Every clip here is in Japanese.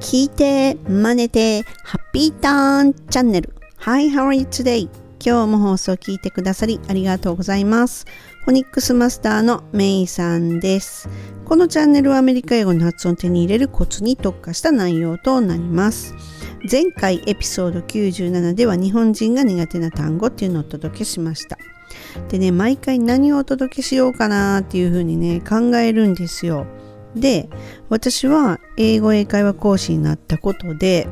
聞いて、真似て、ハッピーターンチャンネル。Hi, how are you today? 今日も放送を聞いてくださりありがとうございます。フォニックスマスターのメイさんです。このチャンネルはアメリカ英語の発音を手に入れるコツに特化した内容となります。前回エピソード97では日本人が苦手な単語っていうのをお届けしました。でね、毎回何をお届けしようかなっていうふうにね、考えるんですよ。で、私は英語英会話講師になったことで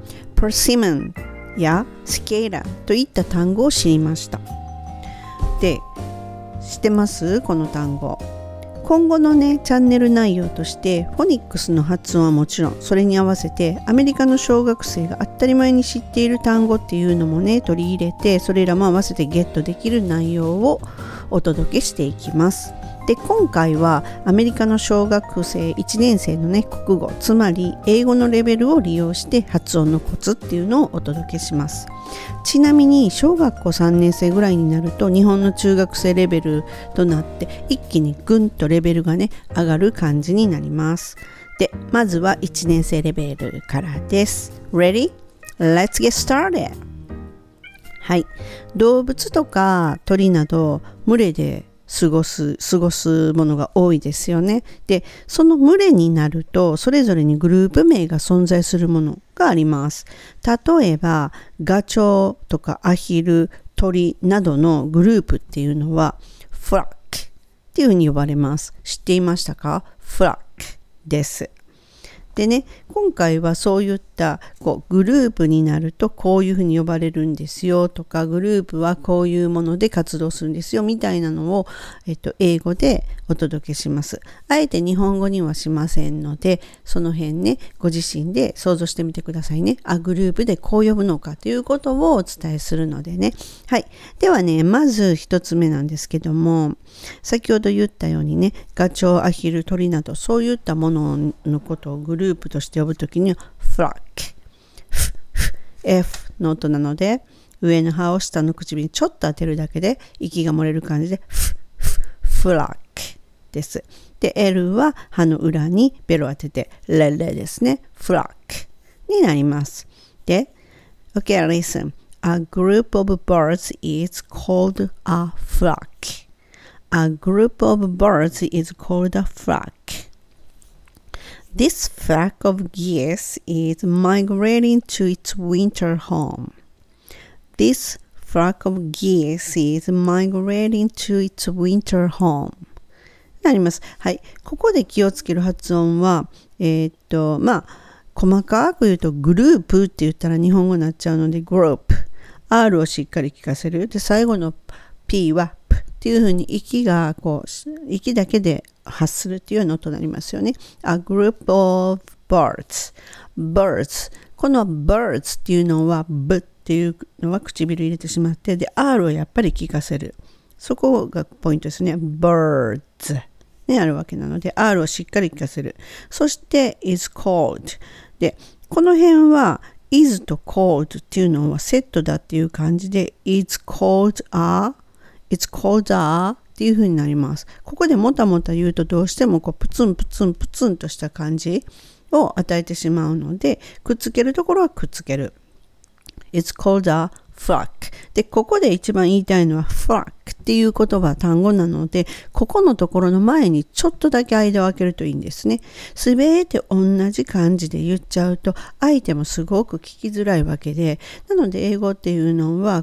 persimmon や cicada といった単語を知りました。で、知ってますこの単語。今後のねチャンネル内容としてフォニックスの発音はもちろん、それに合わせてアメリカの小学生が当たり前に知っている単語っていうのもね取り入れて、それらも合わせてゲットできる内容をお届けしていきます。で、今回はアメリカの小学生1年生のね国語、つまり英語のレベルを利用して発音のコツっていうのをお届けします。ちなみに小学校3年生ぐらいになると日本の中学生レベルとなって一気にぐんとレベルがね上がる感じになります。で、まずは1年生レベルからです。 Ready? Let's get started! はい、動物とか鳥など群れで過ごすものが多いですよね。で、その群れになるとそれぞれにグループ名が存在するものがあります。例えばガチョウとかアヒル、鳥などのグループっていうのはフラックっていうふうに呼ばれます。知っていましたか？フラックです。でね、今回はそういったグループになるとこういうふうに呼ばれるんですよとか、グループはこういうもので活動するんですよみたいなのを、英語でお届けします。あえて日本語にはしませんので、その辺ねご自身で想像してみてくださいね。グループでこう呼ぶのかということをお伝えするのでね。はい。ではね、まず一つ目なんですけども、先ほど言ったようにね、ガチョウ、アヒル、鳥などそういったもののことをグループとして呼ぶときにはフラック、F の音なので上の歯を下の唇にちょっと当てるだけで息が漏れる感じでフラックです。で、L は歯の裏にベロ当ててレレですね。フラックになります。で、OK, listen. A group of birds is called a flock. A group of birds is called a flock.This flock of geese is migrating to its winter home. This flock of geese is migrating to its winter home. なります。はい。ここで気をつける発音は、細かく言うとグループって言ったら日本語になっちゃうので、グループ。R をしっかり聞かせる。で、最後の P はっていう風に息だけで発するっていうような音になりますよね。A group of birds。この birds っていうのは B っていうのは唇入れてしまって、で R をやっぱり聞かせる。そこがポイントですね。birds ね、あるわけなので R をしっかり聞かせる。そして is called で、この辺は is と called っていうのはセットだっていう感じで It's called aっていう風になります。ここでもたもた言うとどうしてもプツンプツンプツンとした感じを与えてしまうので、くっつけるところはくっつける。It's called a flock。で、ここで一番言いたいのは flock っていう言葉、単語なので、ここのところの前にちょっとだけ間を空けるといいんですね。すべて同じ感じで言っちゃうと相手もすごく聞きづらいわけで、なので英語っていうのは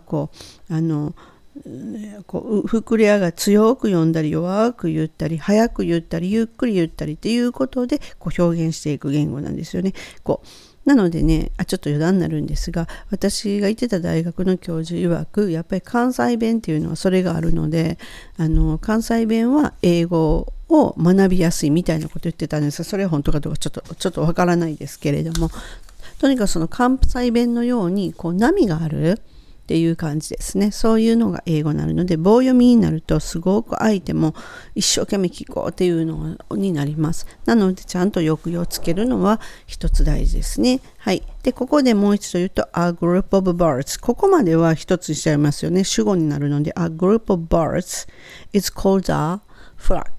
膨れ上が強く読んだり弱く言ったり早く言ったりゆっくり言ったりっていうことで表現していく言語なんですよね。なのでね、ちょっと余談になるんですが、私が行ってた大学の教授曰くやっぱり関西弁っていうのはそれがあるので、関西弁は英語を学びやすいみたいなこと言ってたんですが、それは本当かどうかちょっとわからないですけれども、とにかくその関西弁のように波があるっていう感じですね。そういうのが英語になるので、棒読みになるとすごく相手も一生懸命聞こうっていうのになります。なのでちゃんと抑揚をつけるのは一つ大事ですね。はい。で、ここでもう一度言うと A group of birds。ここまでは一つにしちゃいますよね。主語になるので A group of birds is called a flock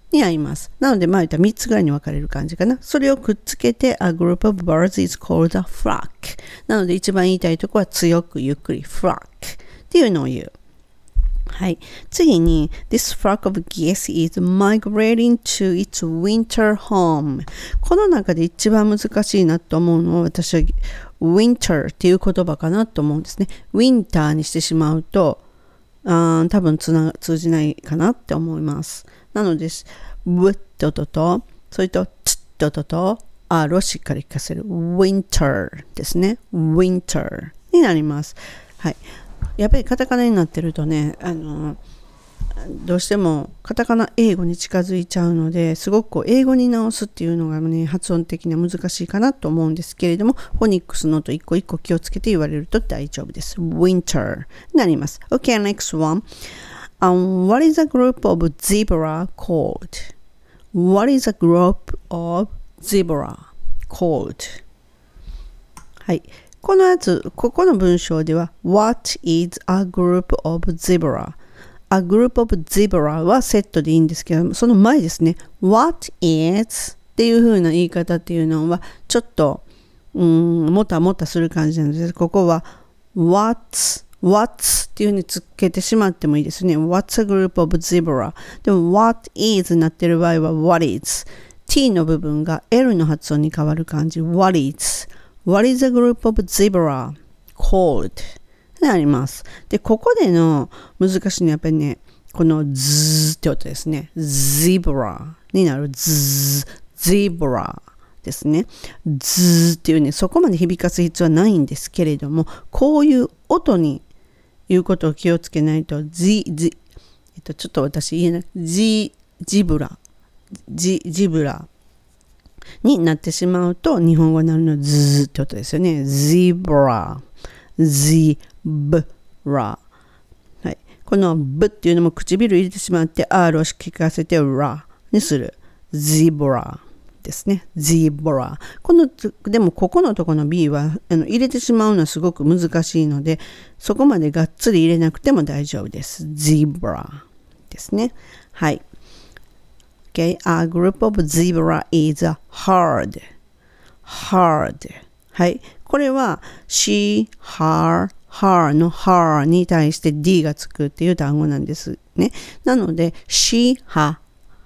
になります。なので、言ったら3つぐらいに分かれる感じかな。それをくっつけて、a group of birds is called a flock。なので、一番言いたいところは強くゆっくり flock っていうのを言う。はい。次に、this flock of geese is migrating to its winter home。この中で一番難しいなと思うのは、私は winter っていう言葉かなと思うんですね。winter にしてしまうと、多分通じないかなって思います。なので、w と、それと t と、r をしっかり聞かせる。winter ですね。winter になります。はい。やっぱりカタカナになってるとね、どうしてもカタカナ英語に近づいちゃうので、すごく英語に直すっていうのがね、発音的には難しいかなと思うんですけれども、フォニックスのと一個一個気をつけて言われると大丈夫です。winter になります。Okay, next one. What is a group of zebra called? What is a group of zebra called? はい。ここの文章では What is a group of zebra?A group of zebra はセットでいいんですけど、その前ですね。What is っていう風な言い方っていうのは、ちょっと、もたもたする感じなので、ここは What's っていう風につけてしまってもいいですね。What's a group of zebra? でも What is になってる場合は What is。T の部分が L の発音に変わる感じ。What is?What is a group of zebra called? になります。で、ここでの難しいのはやっぱりね、このズーって音ですね。zebra になるzebra ですね。ズーっていうね、そこまで響かす必要はないんですけれども、こういう音に言うことを気をつけないと、ちょっと私言えない。ジブラになってしまうと、日本語になるのはズーって音ですよね。zebra。はい。このブっていうのも唇入れてしまって R を聞かせてラにする。zebra ですね。zebra。でもここのところの B は入れてしまうのはすごく難しいので、そこまでがっつり入れなくても大丈夫です。zebra ですね。はい。Okay, a group of zebra is hard. はい。これは she, her の her に対して D がつくっていう単語なんですね。なので she, her,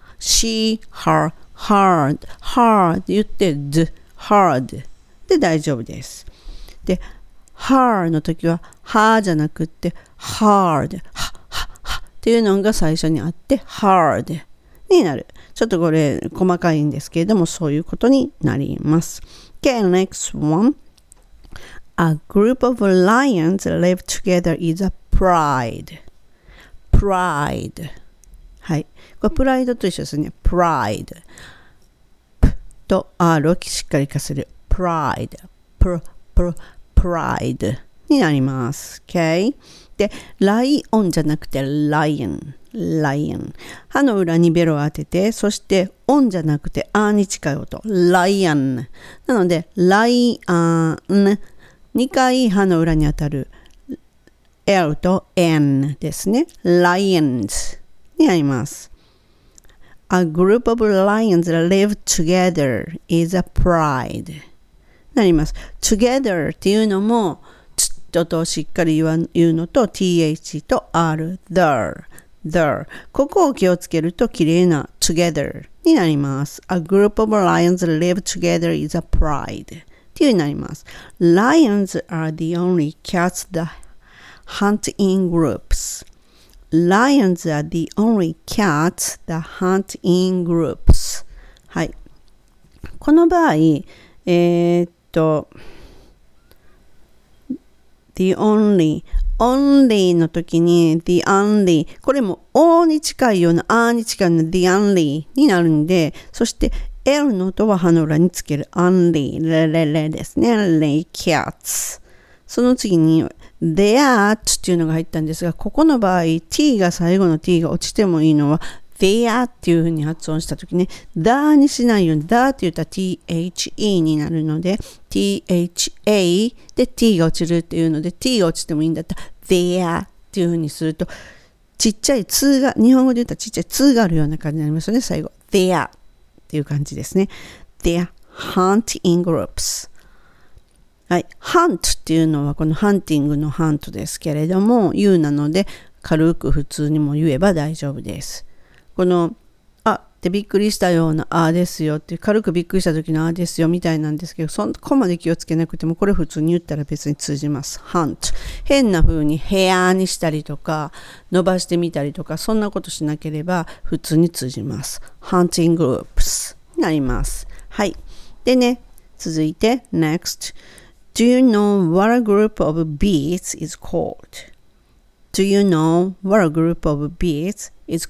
hard って言って hard で大丈夫です。で、her の時は her じゃなくて hard っていうのが最初にあって hard になる。ちょっとこれ細かいんですけれども、そういうことになります。Okay, next one. A group of lions live together is a pride. はい。これプライドと一緒ですね。pride。P と R をしっかりかせる。pride。pride になります。Okay? で、ライオンじゃなくてライオン。歯の裏にベロを当てて、そしてオンじゃなくてアに近い音。ライオン。なので、ライオン。2回歯の裏に当たる L と N ですね。lions になります。A group of lions live together is a pride なります。together っていうのもちょっとしっかり言うのと th と r there ここを気をつけると綺麗な together になります。A group of lions live together is a prideっていうになります。Lions are the only cats that hunt in groups. Lions are the only cats that hunt in groups. はい。この場合、the only の時に the only これも O に近いような A に近いような the only になるんで、そしてL の音は歯の裏につける only レですね。lay cats その次に theat っていうのが入ったんですが、ここの場合 t が最後の t が落ちてもいいのは there っていう風に発音した時ね、だにしないようにだって言ったら the になるので tha で t が落ちるっていうので t が落ちてもいいんだったら there っていう風にするとちっちゃい2が、日本語で言ったらちっちゃい2があるような感じになりますよね。最後。They are っていう感じですね。They are hunt in groups。はい。hunt っていうのはこのハンティングのハントですけれども、言うなので軽く普通にも言えば大丈夫です。このってびっくりしたようなですよって軽くびっくりした時のですよみたいなんですけど、そこまで気をつけなくてもこれ普通に言ったら別に通じます。hunt 変な風にヘアにしたりとか伸ばしてみたりとかそんなことしなければ普通に通じます。hunting groups になります。はい。でね、続いて next Do you know what a group of bees is called? Do you know what a group of bees is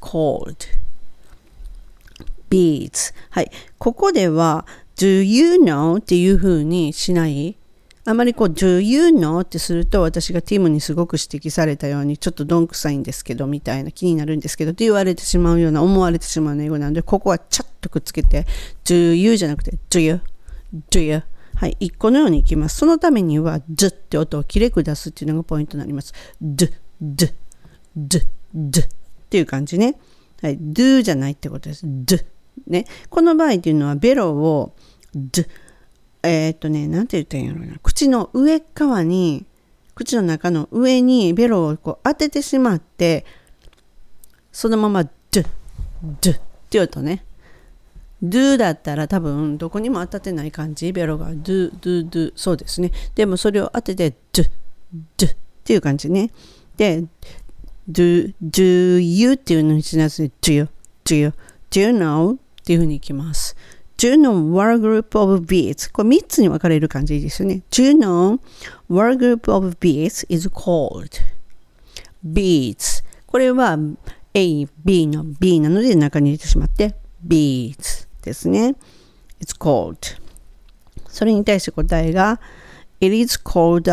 called?Beads はい。ここでは Do you know っていう風にしない。あまりこう Do you know ってすると私がティムにすごく指摘されたようにちょっとどんくさいんですけどみたいな気になるんですけどって言われてしまうような思われてしまう英語なのでここはちゃっとくっつけて Do you じゃなくて Do you Do you はい。一個のようにいきます。そのためには D って音をきれく出すっていうのがポイントになります。D D D D っていう感じね。はい。Do じゃないってことです。Dね、この場合っていうのはベロをなんて言ったらいいんやろうな、口の上側に口の中の上にベロをこう当ててしまってそのままドゥって音ね。ドゥだったら多分どこにも当たってない感じ、ベロがドゥそうですね。でもそれを当ててドゥっていう感じね。でdo you っていうのにしなさい。do you know っていうふうにいきます。Do you know what a group of bees? これ3つに分かれる感じですよね。Do you know what a group of bees is called? Bees。これは A、B の B なので中に入れてしまって bees ですね。It's called。それに対して答えが It is called a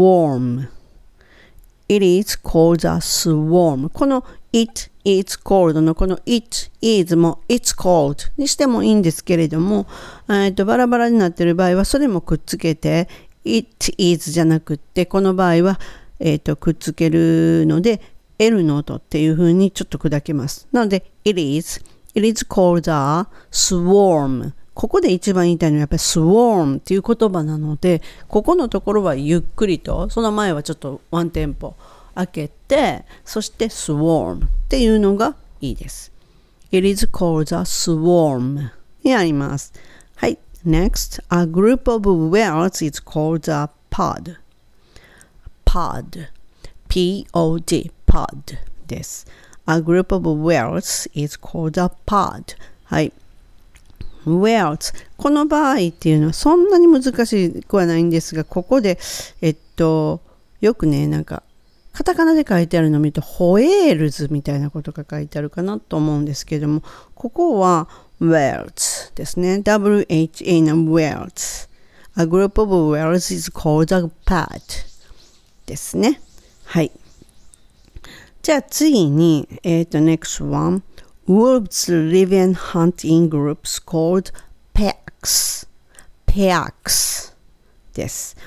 swarm。It is called a swarm。この It is cold のこの It is も It's cold にしてもいいんですけれども、バラバラになっている場合はそれもくっつけて It is じゃなくってこの場合は、くっつけるので L の音っていう風にちょっと砕けます。なので It is called a swarm。ここで一番言いたいのはやっぱり swarm っていう言葉なのでここのところはゆっくりとその前はちょっとワンテンポ開けてそして swarm っていうのがいいです。It is called a swarm にあります。はい。Next, a group of whales is called a pod. P-O-D pod です。A group of whales is called a pod. はい。whales この場合っていうのはそんなに難しくはないんですがここでよくねなんかカタカナで書いてあるのを見るとホエールズみたいなことが書いてあるかなと思うんですけれどもここは whales ですね WHA の whales A group of whales is called a pod ですね。はいじゃあ次にnext one Wolves live and hunt in groups called packs です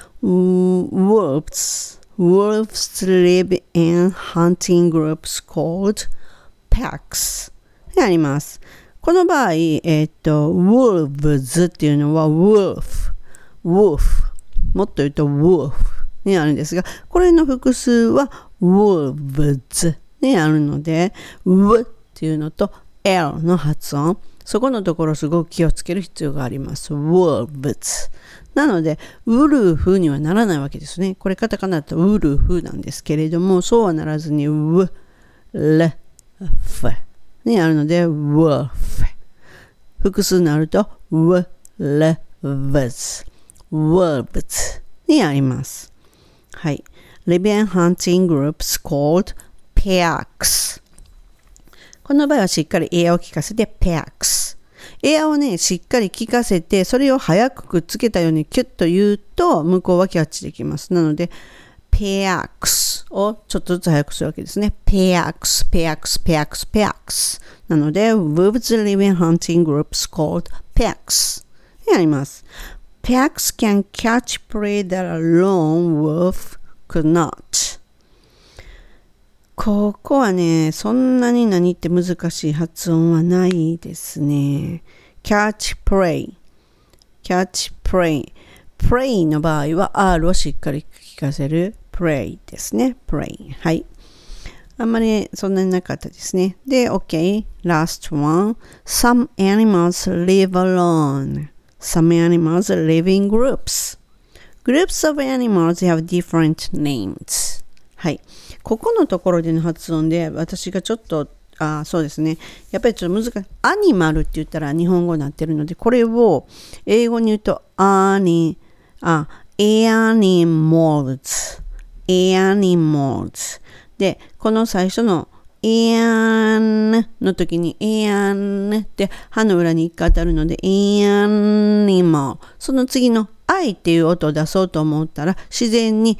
。Wolves live in hunting groups called packs にあります。この場合、wolves っていうのは wolf もっと言うと wolf にあるんですが、これの複数は wolves にあるので、w っていうのと L の発音、そこのところすごく気をつける必要があります。wolves。なので、ウルフにはならないわけですね。これカタカナだとウルフなんですけれども、そうはならずにウ、レ、フになるので、ウルフ。複数になると、ウ、レ、ヴズ。wolves にあります。はい。Live and hunting groups called packs。この場合はしっかりエアを聞かせて packs。エアをね、しっかり聞かせて、それを早くくっつけたようにキュッと言うと、向こうはキャッチできます。なので、packs をちょっとずつ早くするわけですね。packs。なので、wolves live in hunting groups called packs にあります。Packs can catch prey that a lone wolf could not. ここはね、そんなに何って難しい発音はないですね。catch prey。catch prey。prey の場合は R をしっかり聞かせる prey ですね。prey。はい。あんまりそんなになかったですね。で、OK。Last one. Some animals live alone. Some animals live in groups. Groups of animals have different names. はい。ここのところでの発音で私がちょっとそうですね。やっぱりちょっと難しい。アニマルって言ったら日本語になってるので、これを英語に言うとanimals。で、この最初のan の時に an って歯の裏に一回当たるので animal。その次の I っていう音を出そうと思ったら自然に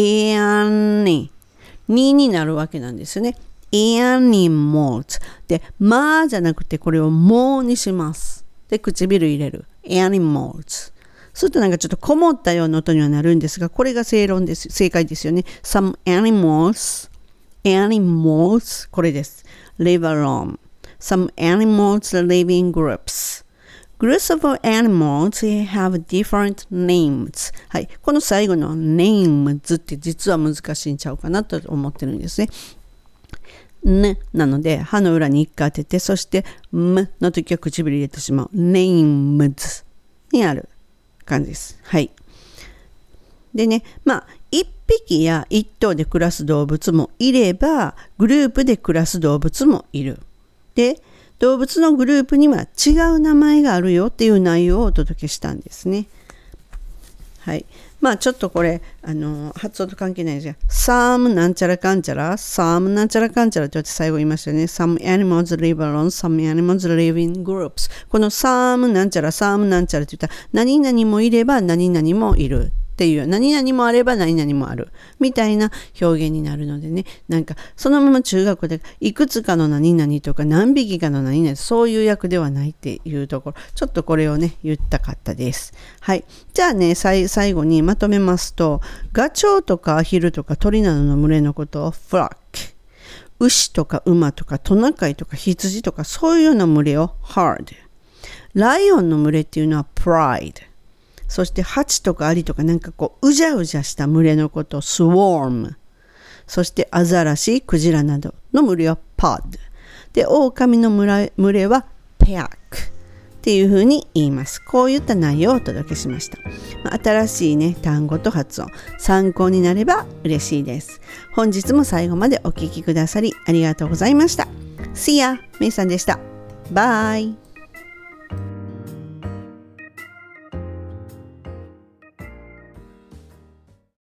an になるわけなんですよね。animals で、まじゃなくてこれをもにします。で、唇入れる。animals。するとなんかちょっとこもったような音にはなるんですが、これが正解ですよね。Some animals これです。live alone. Some animals live in groups.Groups of animals have different names. はい。この最後の names って実は難しいんちゃうかなと思ってるんですね。なので、歯の裏に一回当てて、そして、の時は唇入れてしまう。names にある感じです。はい。でね、一匹や一頭で暮らす動物もいれば、グループで暮らす動物もいる。で、動物のグループには違う名前があるよっていう内容をお届けしたんですね。はい。ちょっとこれ、発音と関係ないですが、some なんちゃらかんちゃら、some なんちゃらかんちゃらって最後言いましたよね。some animals live alone, some animals live in groups。この some なんちゃらって言ったら、何々もいれば何々もいる。っていう何々もあれば何々もあるみたいな表現になるのでね、なんかそのまま中学校でいくつかの何々とか何匹かの何々そういう訳ではないっていうところ、ちょっとこれをね言ったかったです。はい。じゃあね最後にまとめますと、ガチョウとかアヒルとか鳥などの群れのことをフラック、牛とか馬とかトナカイとか羊とかそういうような群れをハード、ライオンの群れっていうのはプライド、そして蜂とかアリとかなんかこううじゃうじゃした群れのことをスウォーム、そしてアザラシ、クジラなどの群れはポッドで、狼の群れはペアックっていうふうに言います。こういった内容をお届けしました。新しいね単語と発音参考になれば嬉しいです。本日も最後までお聞きくださりありがとうございました。See ya! めいさんでした。バイ。